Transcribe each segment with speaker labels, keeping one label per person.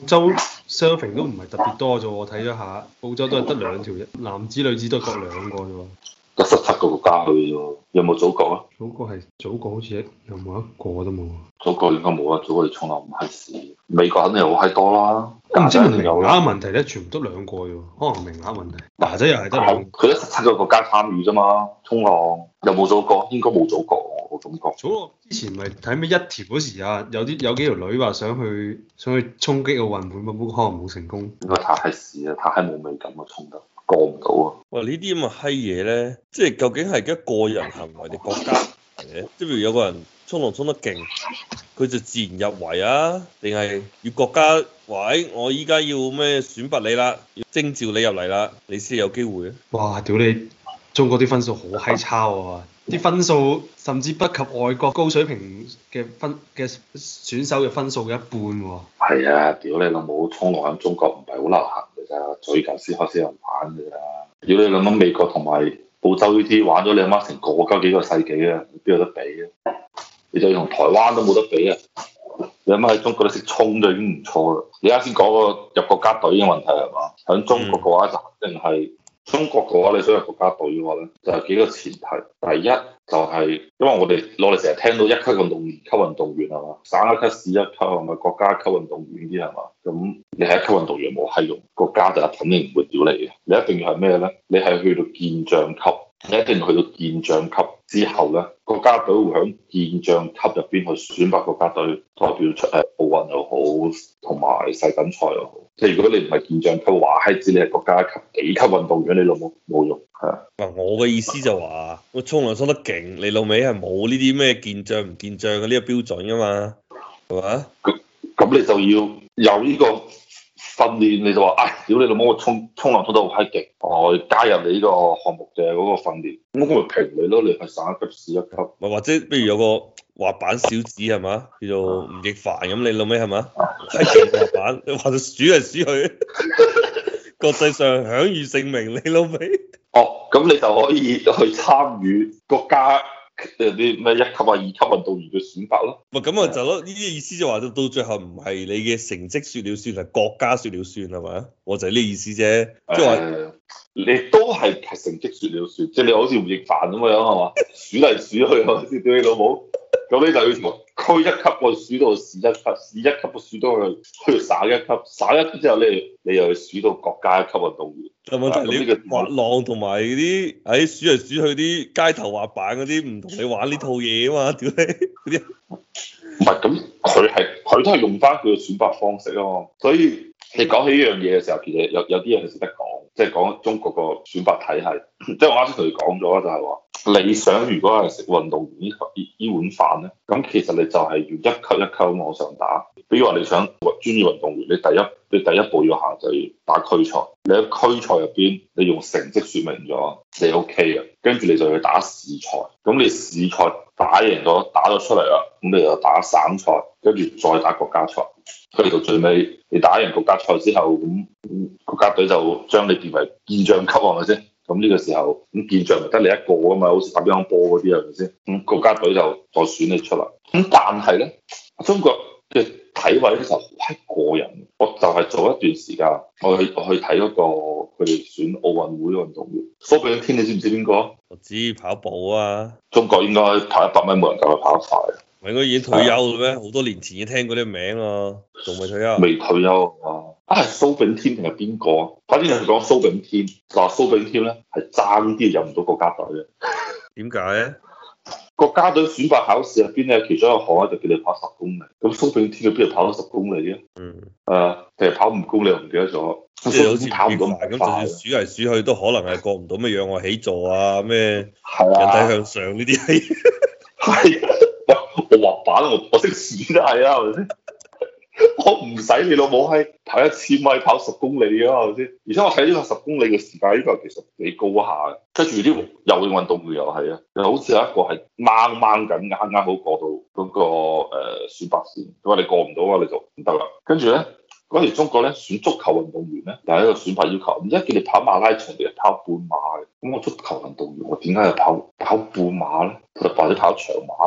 Speaker 1: 洲 surfing 都唔係特別多啫喎，我睇咗下，澳洲都係得兩條，男子女子都各兩個啫喎。
Speaker 2: 得17個國家去啫，有冇祖國啊？
Speaker 1: 祖國係祖國好似有冇一個都冇。
Speaker 2: 祖國應該冇啊，祖國你從來唔係事。美國肯定好閪多啦。
Speaker 1: 我唔知係咪名
Speaker 2: 有
Speaker 1: 額問題咧，全部都兩個啫喎，可能名額問題。牙仔又係得兩個。
Speaker 2: 佢得17個國家參與啫嘛，衝浪有冇祖國？應該冇祖國，我感覺。
Speaker 1: 祖國之前咪睇咩一條嗰時啊，有幾條女話想去衝擊奧運會，不過可能冇成功。
Speaker 2: 應該太閪屎啊，太閪冇美感啊，衝得過唔到啊！
Speaker 3: 哇！呢啲咁嘅閪嘢咧，即係究竟係一個人行為定國家行為？即係譬如有個人衝浪衝得勁，佢就自然入圍啊？定係要國家話誒，我依家要咩選拔你啦，要徵召你入嚟啦，你先有機會啊？
Speaker 1: 哇！屌你，中國啲分數好閪差喎，啲分數甚至不及外國高水平嘅選手嘅分數嘅一半喎。
Speaker 2: 係啊，屌你老母，衝浪喺中國唔係好流行㗎咋，最近先開始有人玩㗎咋。屌你諗諗美國同埋澳洲呢啲玩咗你阿媽成個幾個世紀啊，邊有得比啊？你就同台灣都冇得比啊！你阿媽喺中國都識衝就已經唔錯啦。你啱先講個入國家隊嘅問題係嘛？喺中國嘅話就肯定係。中國嘅話，你想入國家隊嘅話咧，就係幾個前提。第一就係因為我哋成日聽到一級運動員、級運動員係嘛，省一級、市一級係咪國家級運動員啲係嘛？咁你係一級運動員冇閪用，國家就肯定唔會屌你嘅。你一定要係咩咧？你係去到健將級，你一定要去到健將級之後咧，國家隊會喺健將級入邊去選拔國家隊代表出奧運又好，同埋世錦賽又好。即係如果你唔係健將級，話閪知你係國家級幾級運動員，你老母冇用。係啊，
Speaker 3: 嗱，我嘅意思就話，我衝浪衝得勁，你老味係冇呢啲咩健將唔健將嘅呢個標準噶嘛，係嘛？
Speaker 2: 咁你就要有呢個訓練，你就話，唉，屌你老母，我衝浪衝得好閪勁，我加入你呢個項目嘅嗰個訓練，咁我咪評你咯，你係省一級、市一級。
Speaker 3: 咪或者，譬如有個滑板小子係嘛，叫做吳亦凡咁，你老味係嘛？係勁滑板，你話到數嚟數去，國際上享譽盛名，你老味。
Speaker 2: 哦，咁你就可以去參與國家啲咩1級啊、2級運動員嘅選拔咯。
Speaker 3: 咪咁啊就咯，呢啲意思就話到最後唔係你嘅成績説了算，係國家説了算係咪？我就係呢意思啫，即係話
Speaker 2: 你都係成績説了算，即係你好似吳亦凡咁樣係嘛？數嚟數去係咪先？屌你老母！咁你就要從區一級我數到市一級，市一級我數到去省一級，省一級之後你又去數到國家一級運動員。
Speaker 3: 但問題你滑浪同埋嗰啲喺數嚟數去啲街頭滑板嗰啲唔同你玩呢套嘢啊嘛，屌你嗰啲。
Speaker 2: 唔係咁，佢都係用翻佢嘅選拔方式啊嘛，所以你講起呢樣嘢嘅時候，其實有啲嘢係值得講，即係講中國個選拔體系。即係我啱先同你講咗啦，就係話你想如果係食運動員呢碗飯咧，咁其實你就係要一級一級往上打。比如話你想專業運動員，你第一步要行就要打區賽。你喺區賽入邊，你用成績説明咗你 OK 嘅，跟住你就去打市賽。咁你市賽打贏咗，打咗出嚟啦，咁你就打省賽，跟住再打國家賽。去到最尾，你打贏國家賽之後，咁國家隊就將你變為健將級，係咪先？咁呢個時候，咁健將咪得你一個啊嘛，好似打乒乓波嗰啲係咪先？咁國家隊就再選你出嚟。咁但係咧，中國嘅體委咧就好閪過人。我就係做一段時間，我去睇嗰個佢哋選奧運會運動員蘇炳添，你知唔知邊個？
Speaker 3: 我知跑步啊，
Speaker 2: 中國應該跑100米冇人夠佢跑得快。
Speaker 3: 唔係應該已經退休啦咩？好多年前已經聽過啲名啊，仲未退休？
Speaker 2: 未退休啊！係蘇炳添定係邊個？反正係講蘇炳添，話蘇炳添咧係爭啲入唔到國家隊嘅。
Speaker 3: 點解咧？
Speaker 2: 國家隊選拔考試入邊咧，其中一個項咧就叫你跑10公里。咁蘇炳添佢邊度跑到10公里嘅？定係跑5公里我唔記得咗。
Speaker 3: 即係好似跑唔到咁，就算數嚟數去都可能係過唔到咩仰臥起坐啊，咩人體向上呢啲係。
Speaker 2: 係，我滑板我識數都係啊，係咪先？我唔使你老母閪跑1000米跑10公里啊，係咪先？而且我睇呢個10公里嘅時間，呢個其實幾高下嘅。跟住啲游泳運動員又係啊，又好似有一個係掹緊，啱啱好過到嗰個選拔線。佢話你過唔到啊，你就唔得啦。跟住咧，嗰時中國咧選足球運動員咧，又係一個選拔要求。而家叫你跑馬拉松定係跑半馬嘅？咁我足球運動員，我點解要跑半馬咧？或者跑長馬咧？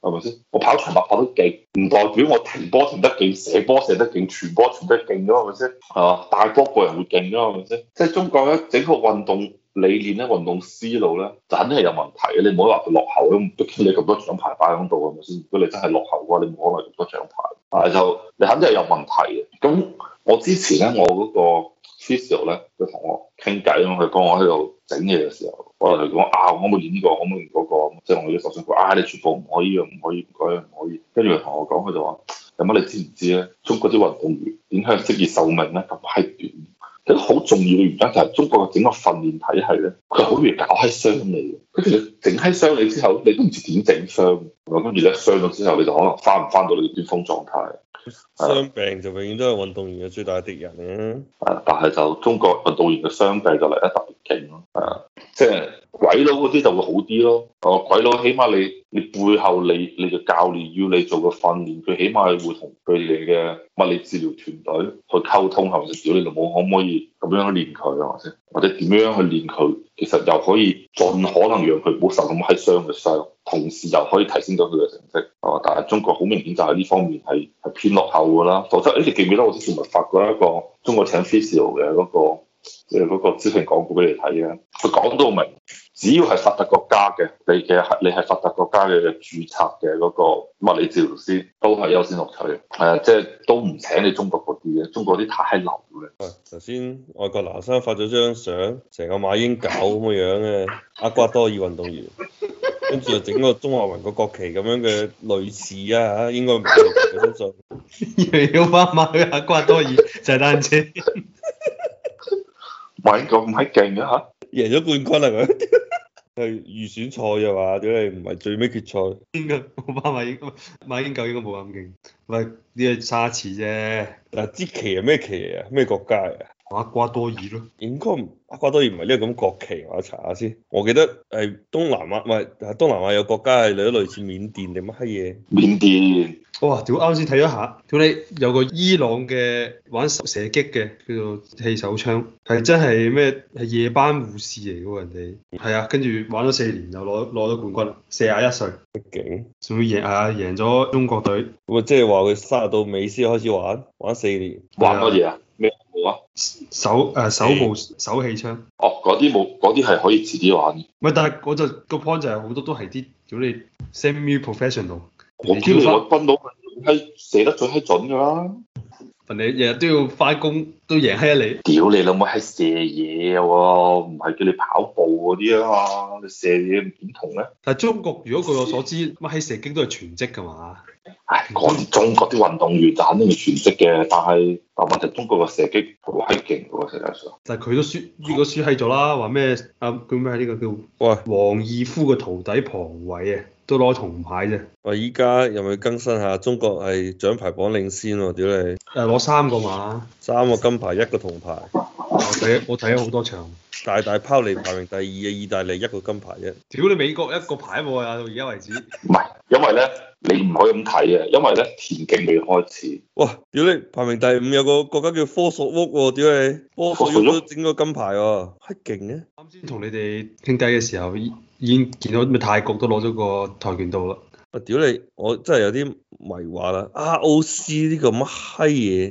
Speaker 2: 係咪先？我跑長跑跑得勁，唔代表我停波停得勁，射波射得勁，傳波傳得勁㗎，係咪先？係嘛？大波個人會勁㗎，係咪先？即係中國咧整個運動理念咧、運動思路咧，就肯定係有問題嘅。你唔好話佢落後咁，畢竟你咁多獎牌擺喺度，係咪先？如果你真係落後嘅話，你冇可能咁多獎牌。但係就你肯定係有問題嘅。咁我之前咧，我嗰個 physio 咧，佢同我傾偈咁，佢幫我喺度整嘢嘅時候，我同佢講啊，我可唔可以練呢個，可唔可以練嗰個？即係我啲手上佢啊，你全部唔可以啊，唔可以，唔可以，唔可以。跟住佢同我講，佢就話：有乜你知唔知咧？中國啲運動員點解職業壽命咧咁閪短？其實好重要嘅原因就係中國嘅整個訓練體系咧，佢好容易搞閪傷你嘅。跟住你整閪傷你之後，你都唔知點整傷。跟住咧傷咗之後，你就可能翻唔翻到你嘅巔峰狀態。
Speaker 3: 傷病就永遠都係運動員嘅最大敵人嘅。
Speaker 2: 但係就中國運動員嘅傷病就嚟得特別勁咯。即係鬼佬嗰啲就會好啲咯。鬼佬起碼你背後你嘅教練要你做個訓練，佢起碼係會同佢哋嘅物理治療團隊去溝通，係咪先？屌你老母可唔可以咁樣練佢係咪先？或者點樣去練佢？其實又可以盡可能讓佢唔好受咁閪傷嘅傷，同時又可以提升到佢嘅成績。但係中國好明顯就係呢方面係偏落後㗎啦。否則你記唔記得我之前咪發過一個中國請 physio 嘅嗰個，即係嗰個招聘廣告俾你睇嘅？佢講到明，只要係發達國家嘅，你係發達國家嘅註冊嘅嗰個物理治療師，都係優先錄取。即係都唔請你中國嗰啲嘅，中國啲太流嘅。
Speaker 3: 頭先外國男生發咗張相，成個馬英九咁嘅樣嘅厄瓜多爾運動員，跟住就整個中華民國國旗咁樣嘅類似啊，應該唔係我相信。
Speaker 1: 又要翻馬去厄瓜多爾踩單車，
Speaker 2: 馬英九咁閪勁啊嚇！
Speaker 3: 贏咗冠軍係咪？係預選賽嘅嘛？點解唔係最尾決賽？
Speaker 1: 應該冇翻馬英九應該冇咁勁，喂，呢個沙池啫。
Speaker 3: 嗱，支旗係咩旗嚟啊？咩國家嚟啊？
Speaker 1: 厄瓜多爾咯，
Speaker 3: 應該唔厄瓜多爾唔係呢個咁國旗，我查下先。我記得係東南亞，唔係東南亞有國家係類似緬甸定乜閪嘢？
Speaker 2: 緬甸。
Speaker 1: 哇！屌啱先睇咗下，屌你有個伊朗嘅玩射擊嘅叫做氣手槍，係真係咩？係夜班護士嚟嘅喎，人哋係啊，跟住玩咗4年就攞咗冠軍，41歲，
Speaker 3: 勁！
Speaker 1: 仲要贏咗中國隊。
Speaker 3: 咁啊，即係話佢卅到尾先開始玩4年。
Speaker 2: 玩乜嘢啊？咩冇啊？
Speaker 1: 手氣槍。
Speaker 2: 哦，嗰啲冇，嗰啲係可以遲啲玩。
Speaker 1: 唔係，但係我就個 point 就係好多都係啲屌你 semi professional。
Speaker 2: 我知你個軍佬係射得最閪準㗎啦。
Speaker 1: 你日日都要翻工，都贏閪你。
Speaker 2: 屌你老母係射嘢喎，唔係叫你跑步嗰啲啊嘛，你射嘢點同咧？
Speaker 1: 但係中國如果據我所知，乜喺射擊都係全職㗎嘛。
Speaker 2: 唉，嗰啲中國啲運動員就肯定係全職嘅，但問題中國嘅射擊好閪勁喎，實際上。
Speaker 1: 但係佢都輸，呢個輸閪咗啦，話咩啊？叫咩？呢個叫
Speaker 3: 喂
Speaker 1: 王義夫嘅徒弟龐偉啊，都攞銅牌啫。
Speaker 3: 喂，依家有冇更新下？中國係獎牌榜領先喎，屌你！
Speaker 1: 攞3個嘛
Speaker 3: ，3個金牌，1個銅牌。
Speaker 1: 我睇咗好多場。
Speaker 3: 大拋離排名第2嘅意大利1個金牌啫。
Speaker 1: 屌你美國1個牌冇啊，到而家為止。
Speaker 2: 唔係，因為咧你唔可以咁睇嘅，因為咧田徑未開始。
Speaker 3: 哇！屌你排名第5有個國家叫科索沃喎，屌你！科索沃都整個金牌喎，係勁嘅。
Speaker 1: 啱先同你哋傾偈嘅時候，已經見到咩泰國都攞咗個跆拳道啦。
Speaker 3: 啊！屌你，我真係有啲迷惑啦。ROC 呢個乜閪嘢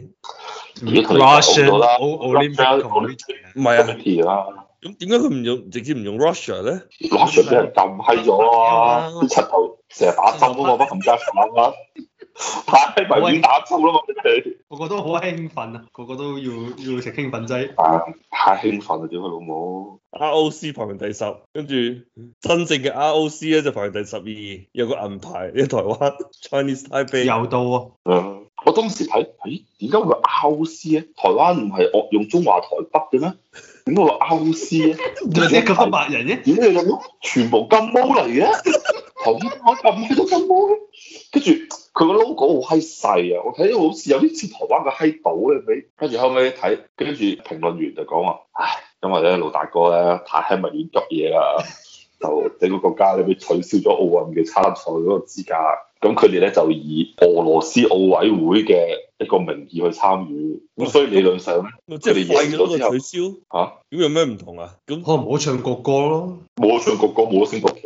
Speaker 1: ？Russian Olympic
Speaker 3: 唔係啊。咁點解佢唔用直接唔用 Russia 咧
Speaker 2: ？Russia 俾人禁閪咗啊！啲柒頭成日打針啊嘛，乜冚家鏟啊！太迷戀打針啦嘛，佢哋
Speaker 1: 個個都好興奮啊！個個都要食興奮劑。
Speaker 2: 太興奮啦！屌佢老母
Speaker 3: ！ROC 排名第10，跟住真正嘅 ROC 咧就排名第12，有個銀牌喺台灣 Chinese Taipei
Speaker 1: 又到啊！
Speaker 2: 我當時睇，點解會有 ROC 咧？台灣唔係惡用中華台北嘅咩？點解會有 ROC 咧？
Speaker 1: 點解咁多白人嘅？
Speaker 2: 點解你諗全部金毛嚟嘅？台灣咁閪多金毛嘅，跟住佢個 logo 好閪細啊！我睇到好似有啲似台灣嘅閪島嘅俾，跟住後尾睇，跟住評論員就講話，唉，因為咧老大哥咧太閪迷戀急嘢啦，就整個國家咧俾取消咗奧運嘅參賽嗰個資格。咁佢哋咧就以俄羅斯奧委會嘅一個名義去參與，咁所以理論上咧，
Speaker 3: 即係廢咗個取消
Speaker 2: 嚇，
Speaker 3: 咁有咩唔同啊？咁
Speaker 1: 可能冇得唱國歌咯，
Speaker 2: 冇得唱國歌，冇得升國旗咯。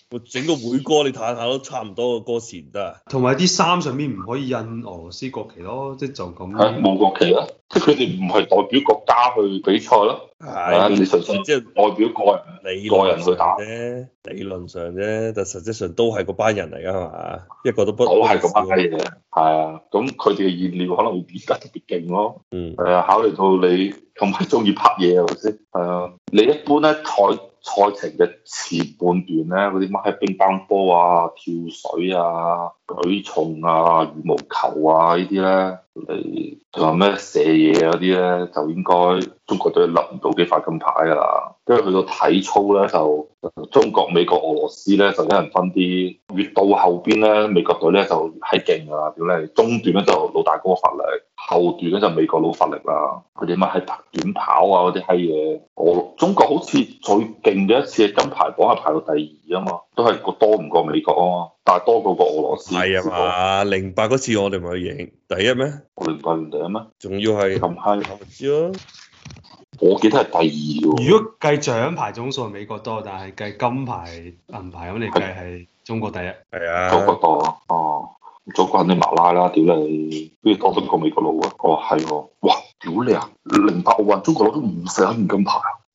Speaker 3: 我整個會歌你睇下都差唔多個歌詞唔得啊？
Speaker 1: 同埋啲衫上面唔可以印俄羅斯國旗咯，即係就咁。
Speaker 2: 係冇國旗啦，即係佢哋唔係代表國家去比賽咯。係你純粹即係代表個人去打
Speaker 3: 啫，理論上啫，但實際上都係嗰班人嚟噶嘛，一個都不
Speaker 2: 都係嗰班嘢。係啊，咁佢哋嘅燃料可能會變得特別勁咯。係啊，考慮到你咁係中意拍嘢係咪先？係啊，你一般咧賽程嘅前半段咧，嗰啲乜喺乒乓波啊、跳水啊、舉重啊、羽毛球啊呢啲咧，你仲有咩射嘢嗰啲咧，就應該中國隊攞唔到幾塊金牌㗎啦。跟住去到體操咧，就中國、美國、俄羅斯咧就一人分啲。越到後邊咧，美國隊咧就閪勁㗎啦，屌你！中段咧就老大哥發力，後段咧就美國佬發力啦。佢哋乜喺短跑啊嗰啲閪嘢，中國好似最勁嘅一次嘅金牌榜係排到第二啊嘛，都係個多唔過美國啊嘛，但係多過個俄羅斯。
Speaker 3: 係啊嘛，08嗰次我哋咪去贏第一咩？
Speaker 2: 我08年第一咩？
Speaker 3: 仲要係
Speaker 2: 咁閪，
Speaker 3: 我唔知咯。
Speaker 2: 我記得係第二喎。
Speaker 1: 如果計獎牌總數係美國多，但係計金牌銀牌咁嚟計係中國第一。
Speaker 3: 係啊。
Speaker 2: 中國多哦，中國肯定馬拉啦，屌你，邊度多得過美國佬啊？哦係喎，哇，屌你啊！08奧運中國攞咗51面金牌啊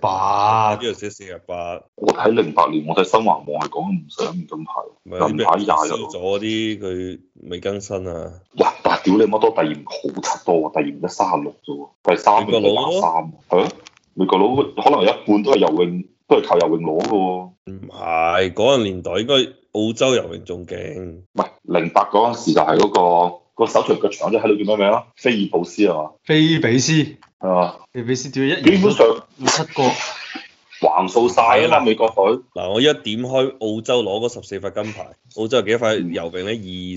Speaker 1: 48。
Speaker 3: 呢度寫48。
Speaker 2: 我睇08年，我睇新華網係講51面金牌，銀牌廿
Speaker 3: 少咗啲佢未更新啊。
Speaker 2: 哇！但係屌你媽多第二名好柒多啊，第二名得36啫喎，第三名係23，係啊，美國佬可能有一半都係游泳，都係靠游泳攞嘅喎。
Speaker 3: 唔係嗰個年代應該澳洲游泳仲勁。
Speaker 2: 唔係08嗰陣時就係個手長腳長仔喺度叫咩名啊？菲爾布斯係嘛？
Speaker 1: 菲比斯
Speaker 2: 係嘛？
Speaker 1: 菲比斯屌一
Speaker 2: 基本上
Speaker 1: 7個。
Speaker 2: 橫掃晒啊嘛，美國隊。
Speaker 3: 嗱，我一點開澳洲攞嗰14塊金牌，澳洲有幾多塊游泳咧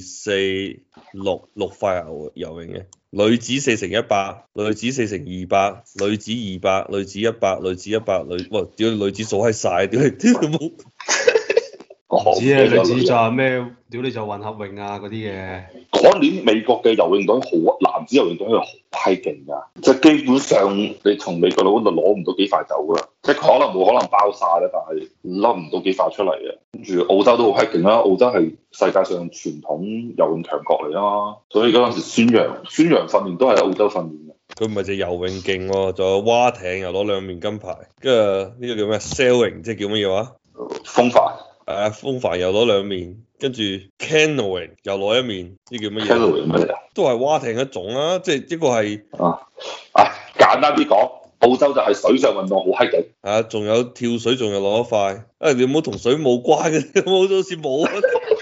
Speaker 3: ？2、4、6塊游泳嘅，女子4×100，女子4×200，女子200，女子100，女子100，哇！屌女子數閪晒，屌你冇。
Speaker 1: 唔知啊，女子就係咩？屌你就混合泳啊嗰啲嘅。
Speaker 2: 嗰年美國嘅游泳隊好，男子游泳隊係好閪勁㗎，即係基本上你從美國佬嗰度攞唔到幾塊走㗎，即係可能冇可能包晒啦，但係甩唔到幾塊出嚟嘅。跟住澳洲都好閪勁啦，澳洲係世界上傳統游泳強國嚟啊嘛，所以嗰陣時孫楊訓練都係澳洲訓練嘅。
Speaker 3: 佢唔係就游泳勁喎，仲有蛙艇又攞2面金牌，跟住呢個叫咩 sailing 即係叫乜嘢話？
Speaker 2: 風帆。
Speaker 3: 風帆又攞2面，跟住 canoeing 又攞1面，呢叫乜嘢
Speaker 2: canoeing 乜嚟啊？
Speaker 3: 都係蛙艇一種啊，即係一個係
Speaker 2: 簡單啲講，澳洲就係水上運動好閪勁。
Speaker 3: 仲有跳水仲有攞1塊。你唔好同水冇關嘅，好似冇啊。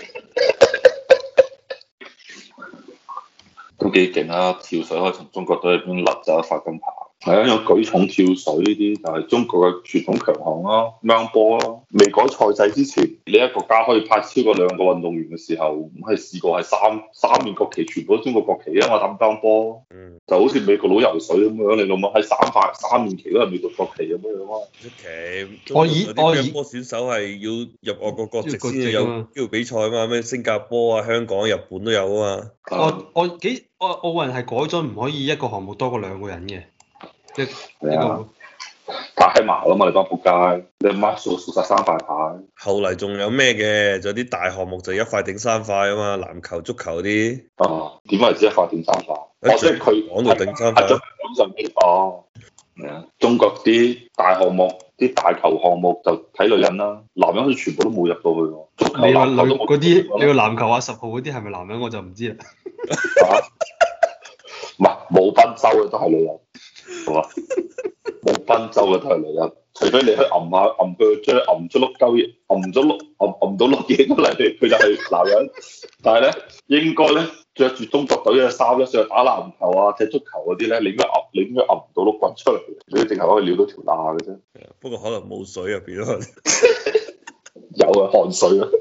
Speaker 2: 都幾勁啊！跳水可以從中國隊入邊甩走1塊金牌。係啊，有舉重、跳水呢啲就係中國嘅傳統強項咯，乒乓波咯。未改賽制之前，你一個國家可以派超過2個運動員嘅時候，咁係試過係三面國旗全部都中國國旗啊嘛，打乒乓波。就好似美國佬游水咁樣，你諗下喺3面旗都係美國國旗咁樣啊。
Speaker 3: 旗。我乒乓波選手係要入外國國籍先有機會比賽啊嘛，咩新加坡啊、香港、日本都有啊嘛。
Speaker 1: 奧運係改咗唔可以一個項目多過2個人嘅。
Speaker 2: 係啊，太麻啦嘛！你班仆街，你媽數晒3塊牌。
Speaker 3: 後嚟仲有咩嘅？仲有啲大項目就1塊頂3塊啊嘛，籃球、足球啲。
Speaker 2: 點為之1塊頂3塊？即係佢
Speaker 3: 講到頂3塊。
Speaker 2: 咁上邊係啊，中國啲大項目、啲大球項目就睇女人啦，男人好似全部都冇入到去喎。足球、籃球都冇。
Speaker 1: 嗰啲，你個籃球啊10號嗰啲係咪男人我就唔知啦。
Speaker 2: 唔係冇賓州嘅都係女人。係嘛？冇賓州嘅都係女人，除非你去揞下揞佢，將揞出碌鳩嘢，揞到碌嘢出嚟，佢就係男人。但係咧，應該咧着住中國隊嘅衫咧，上去打籃球啊、踢足球嗰啲咧，你應該揞唔到碌棍出嚟，你淨係可以撩到條罅嘅啫。
Speaker 3: 不過可能冇水入邊咯。
Speaker 2: 有啊，汗水啊。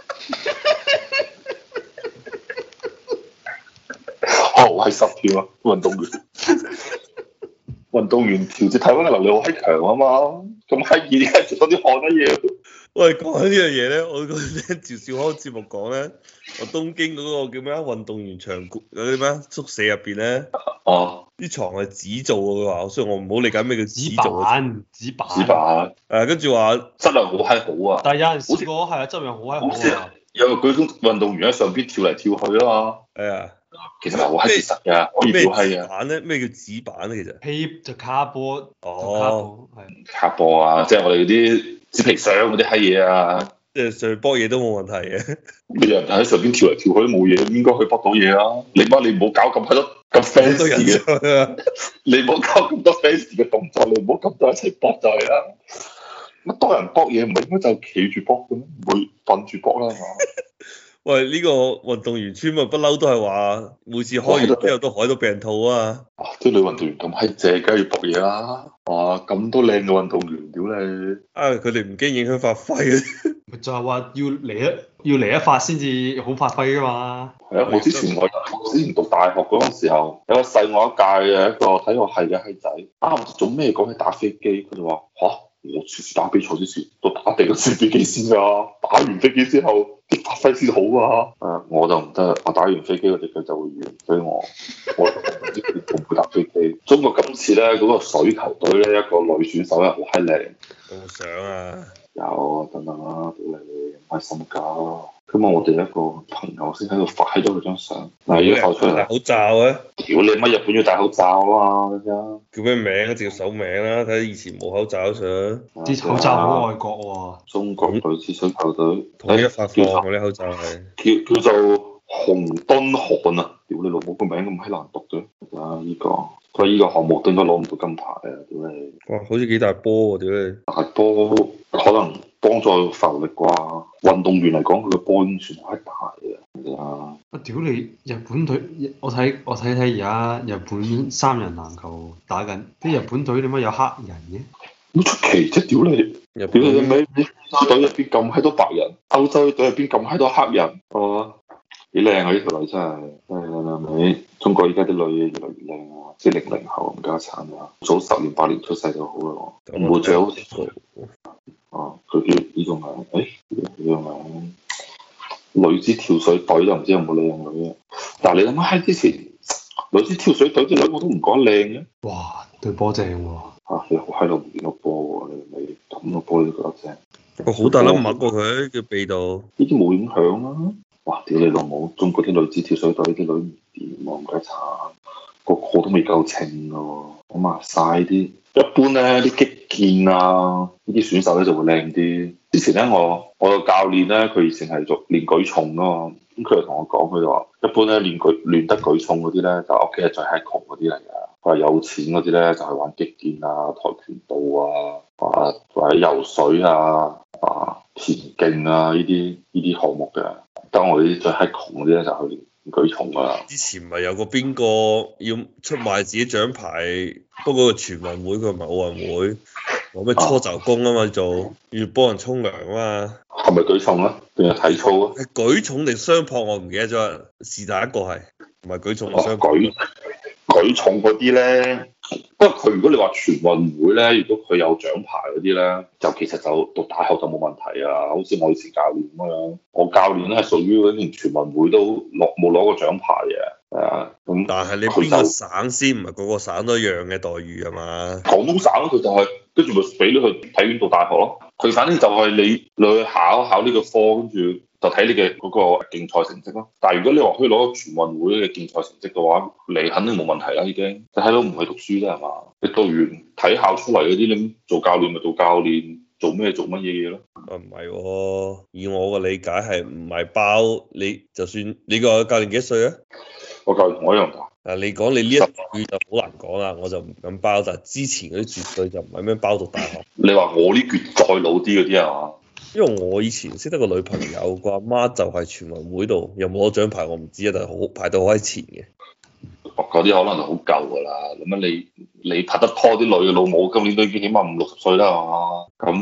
Speaker 2: 好閪濕添啊，運動員。運動員調節體溫嘅能力好閪強啊嘛，咁閪熱點解出多啲汗乜嘢？
Speaker 3: 喂，講緊呢樣嘢咧，我嗰陣聽趙少康節目講咧，我東京嗰個叫咩啊運動員場嗰啲咩宿舍入邊咧，
Speaker 2: 哦，
Speaker 3: 啲床係紙做嘅，佢話，所以我唔好理解咩叫紙
Speaker 1: 紙
Speaker 3: 做嘅。
Speaker 1: 板，紙板，
Speaker 2: 紙板
Speaker 3: 跟住話
Speaker 2: 質量好閪好啊，
Speaker 1: 但係有陣時個係啊，質量好閪
Speaker 2: 好似
Speaker 1: 好啊。
Speaker 2: 有個舉重運動員喺上邊跳嚟跳去啊嘛，
Speaker 3: 係啊，
Speaker 2: 其實係好閪結實㗎，可以
Speaker 3: 咩
Speaker 2: 表閪啊，
Speaker 3: 紙板咧？咩叫紙板咧？其實
Speaker 1: Tape 就卡波，就卡
Speaker 3: 哦，
Speaker 1: 波，係。
Speaker 2: 卡波啊，即係我哋嗰啲紙皮箱嗰啲閪嘢啊。
Speaker 3: 即係上去搏嘢都冇問題嘅。
Speaker 2: 你有人喺上邊跳嚟跳去都冇嘢，應該可以搏到嘢啊！你唔好搞咁閪多咁
Speaker 3: 好多人
Speaker 2: fancy 嘅，
Speaker 3: 上去啊！
Speaker 2: 你唔好搞咁多 fancy 嘅動作，你唔好咁多一齊搏就係啦。乜多人搏嘢唔係應該就企住搏嘅咩？唔會瞓住搏啦係嘛？
Speaker 3: 喂，呢個運動員村咪不嬲都係話，每次開完之後都海到病肚啊！
Speaker 2: 啊！啲女運動員咁閪正，梗係要搏嘢啦！哇！咁多靚嘅運動員，屌你！
Speaker 3: 啊，佢哋唔驚影響發揮嘅。
Speaker 1: 咪就係話要嚟一發先至好發揮㗎嘛。
Speaker 2: 係啊！我之前讀大學嗰陣時候，有個細我一屆嘅一個體育系嘅閪仔，啱唔知做咩講起打飛機，佢就話吓。我次次打比賽之前都打定個先飛機先㗎，打完飛機之後啲發揮先好啊！我就唔得，我打完飛機我隻腳就會軟，所以我唔知會唔會打飛機。中國今次咧嗰個水球隊咧一個女選手咧好閪靚，
Speaker 3: 有冇相啊？
Speaker 2: 有等等啦，屌你唔開心㗎！今日我哋一個朋友先喺度發咗佢張相，嗱依家發出嚟
Speaker 3: 戴口罩啊！
Speaker 2: 屌你乜日本要戴口罩啊嘛？而家
Speaker 3: 叫咩名啊？直接搜名啦，睇下以前冇口罩相。
Speaker 1: 啲口罩好愛國喎。
Speaker 2: 中國女子水球隊
Speaker 3: 統一發放嗰啲口罩係
Speaker 2: 叫做洪敦漢啊！屌你老母個名咁閪難讀嘅，啊依個佢依個項目都應該攞唔到金牌啊！屌你
Speaker 3: 哇，好似幾大波喎！屌你
Speaker 2: 大波可能幫助浮力啩？運動員嚟講，佢個波已經算係大嘅。啊！
Speaker 1: 我屌你日本隊，我睇而家日本三人籃球打緊，啲日本隊點解有黑人嘅？
Speaker 2: 好出奇啫！屌你，
Speaker 3: 日
Speaker 2: 屌你
Speaker 3: 本
Speaker 2: 尾歐洲隊入邊咁閪多白人，歐洲隊入邊咁閪多黑人，係幾靚啊！呢條女真係，你中國依家啲女越嚟越靚啊！即係00後咁家產啊，早10年8年出世就好啦，唔會最好。佢叫呢個名，呢個名女子跳水隊就唔知有冇靚女啊！但係你諗下喺之前女子跳水隊啲女我都唔講靚嘅。
Speaker 1: 哇，對波正喎！
Speaker 2: 你好閪耐唔見到波喎，你咁個波你都覺得正？
Speaker 3: 我好大粒墨過佢叫鼻度，
Speaker 2: 呢啲冇影響啦。哇！屌你老母，中國啲女子跳水隊啲女唔掂喎，唔該慘，個個都未夠稱㗎喎，咁啊晒啲。一般咧啲擊劍啊，呢啲選手咧就會靚啲。之前咧我個教練咧，佢以前係做練舉重㗎嘛，咁佢就同我講，佢就話一般咧練得舉重嗰啲咧，就屋企係最閪窮嗰啲嚟㗎。佢話有錢嗰啲咧就係玩擊劍啊、跆拳道啊、或者游水啊、田徑啊呢啲項目嘅。當我哋啲最閪窮嗰啲咧就去練舉重㗎啦。
Speaker 3: 之前咪有個邊個要出賣自己獎牌，不過個全運會佢唔係奧運會，話咩搓袖功啊嘛做，要幫人沖涼啊嘛。
Speaker 2: 係咪舉重啊？定係體操啊？
Speaker 3: 係舉重定雙槓我唔記得咗，是但一個係，唔係舉重定雙槓。
Speaker 2: 舉重嗰啲咧，不過佢如果你話全運會咧，如果佢有獎牌嗰啲咧，就其實就讀大學就冇問題啊。好似我以前教練咁樣，我教練咧係屬於嗰啲全運會都冇攞過獎牌嘅，係啊。咁
Speaker 3: 但係你邊個省先唔係個個省都一樣嘅待遇啊嘛？
Speaker 2: 廣東省佢就係跟住咪俾你去體院讀大學咯。佢反正就係你去考呢個科，跟住就睇你嘅嗰個競賽成績咯。但係如果你話可以攞到全運會嘅競賽成績嘅話，你肯定冇問題啦已經。你睇到唔係讀書啫係嘛？你讀完體校出嚟嗰啲，你做教練咪做教練，做咩做乜嘢嘢咯？
Speaker 3: 唔係喎，以我嘅理解係唔係包你？就算你個教練幾多歲啊？
Speaker 2: 我教練同我一樣大。
Speaker 3: 你講你呢一句就好難講啦，我就唔敢包。但係之前嗰啲絕對就唔係咩包讀大學。
Speaker 2: 你話我呢橛再老啲嗰啲係嘛？
Speaker 3: 因為我以前識得個女朋友，個阿媽就係全運會度，有冇攞獎牌我唔知啊，但係好排到好喺前嘅。
Speaker 2: 嗰啲可能就好舊㗎啦。咁樣你拍得拖啲女嘅老母，今年都已經起碼50、60歲啦係嘛？咁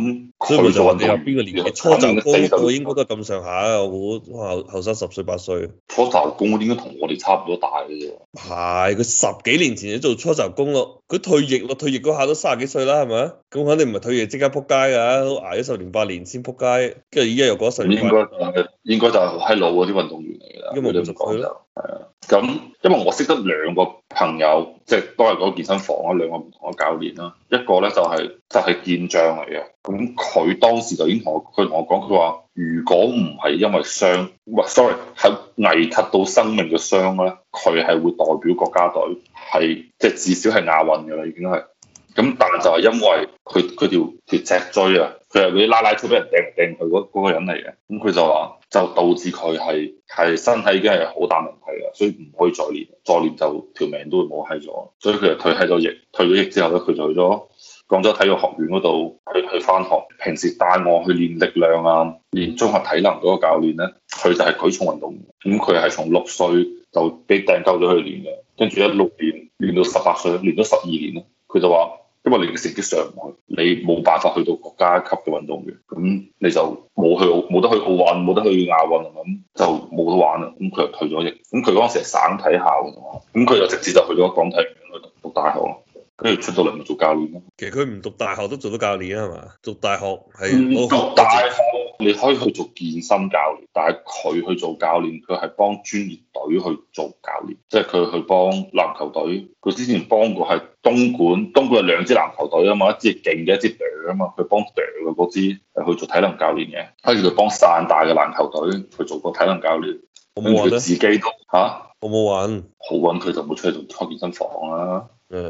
Speaker 3: 所以咪就話你話
Speaker 2: 佢
Speaker 3: 邊個年紀初
Speaker 2: 肯
Speaker 3: 就高
Speaker 2: 定40
Speaker 3: 嗰個應該都係咁上下，我估後生10歲8歲。
Speaker 2: 初就工嗰啲應該同我哋差唔多大嘅啫。
Speaker 3: 係佢10幾年前就做初就工咯，佢退役咯，退役嗰下都30幾歲啦，係咪？咁肯定唔係退役即刻撲街㗎，都捱咗10年8年先撲街，跟住依家又過咗10年。
Speaker 2: 應該就係閪老嗰啲運動員嚟㗎啦。
Speaker 3: 因為冇咁講就係
Speaker 2: 啊。咁因為我識得2個朋友，即係都係嗰個健身房啊，2個唔同嘅教練啦。一個咧就係健將嚟嘅，咁佢當時就已經同我講，佢話如果唔係因為傷，唔係 sorry 係危及到生命嘅傷咧，佢係會代表國家隊，係即係至少係亞運㗎啦，已經係。咁但係就係因為佢條脊椎啊，佢係嗰啲拉拉粗俾人掟嚟掟去嗰個人嚟嘅，咁佢就話就導致佢係身體已經係好大問題啦，所以唔可以再練，再練就條命都會冇閪咗，所以佢就退咗役之後咧，佢就去咗廣州體育學院嗰度去返學。平時帶我去練力量啊，練綜合體能嗰個教練咧，佢就係舉重運動員，咁佢係從6歲就俾掟鳩咗去練嘅，跟住一路練到18歲，練咗12年咧，佢就話。因為你嘅成績上唔去，你冇辦法去到國家級嘅運動員，咁你就冇得去奧運，冇得去亞運，咁就冇得玩啦。咁佢就退咗役。咁佢嗰陣時係省體校嘅嘛，咁佢就直接就去咗廣體院去讀大學咯。跟住出到嚟咪做教練咯。
Speaker 3: 其實佢唔讀大學都做到教練啊，係嘛？讀大學係
Speaker 2: 讀大學你可以去做健身教練，但係佢去做教練，佢係幫專業隊去做教練，即係佢去幫籃球隊。佢之前幫過係東莞係2支籃球隊啊嘛，一支勁嘅，一支隊啊嘛，佢幫隊嘅嗰支去做體能教練嘅，跟住佢幫汕大嘅籃球隊去做個體能教練。跟住佢自己都嚇，
Speaker 3: 我冇玩，
Speaker 2: 好揾佢就冇出去做開健身房啦。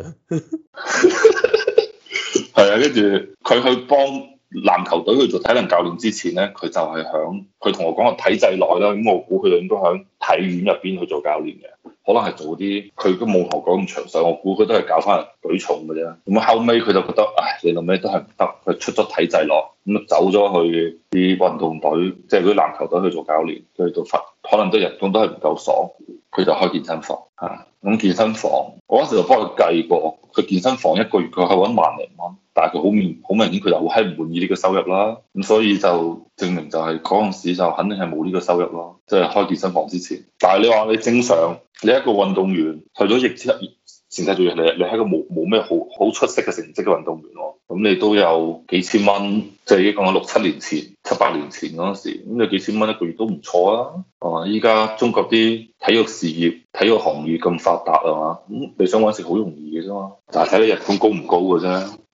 Speaker 2: 係啊，跟住佢去幫籃球隊去做體能教練之前咧，佢就係佢同我講個體制內啦，咁我估佢就應該喺體院入邊去做教練嘅，可能係做啲佢都冇同我講咁詳細，我估佢都係教翻人舉重嘅啫。咁後尾佢就覺得，唉，你諗咩都係唔得，佢出咗體制內，咁走咗去啲運動隊，即係嗰啲籃球隊去做教練，去到可能都人工都係唔夠爽，佢就開健身房嚇。咁健身房，我嗰時就幫佢計過，佢健身房一個月佢係揾10000零蚊，但係佢好明顯佢就好閪唔滿意呢個收入啦。咁所以就證明就係嗰陣時就肯定係冇呢個收入咯，即係開健身房之前。但係你話你正常，你一個運動員退咗役之後，前世做嘢，你係一個冇咩好出色嘅成績嘅運動員喎，咁你都有幾千蚊，即係已經講咗6、7年前、7、8年前嗰陣時，咁你幾千蚊一個月都唔錯啊！啊，依家中國啲體育事業、體育行業咁發達啊嘛，咁你想揾食好容易嘅啫嘛，就係睇你人工高唔高嘅啫。